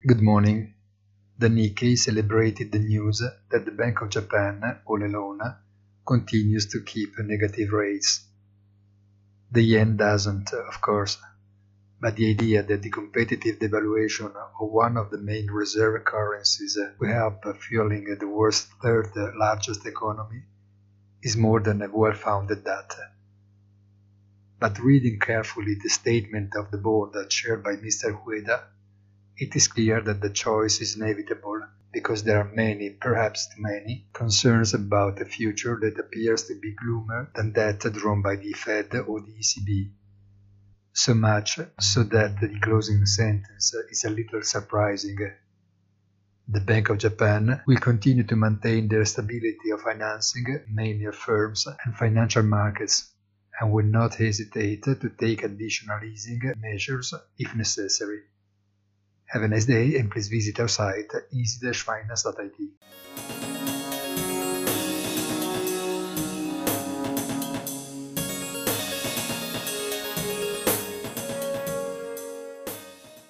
Good morning. The Nikkei celebrated the news that the Bank of Japan, all alone, continues to keep negative rates. The yen doesn't, of course, but the idea that the competitive devaluation of one of the main reserve currencies will help fueling the world's third largest economy is more than a well-founded data. But reading carefully the statement of the board chaired by Mr. Ueda, it is clear that the choice is inevitable because there are many, perhaps too many, concerns about a future that appears to be gloomier than that drawn by the Fed or the ECB. So much so that the closing sentence is a little surprising. The Bank of Japan will continue to maintain their stability of financing, mainly of firms and financial markets, and will not hesitate to take additional easing measures if necessary. Have a nice day and please visit our site easy-finance.it.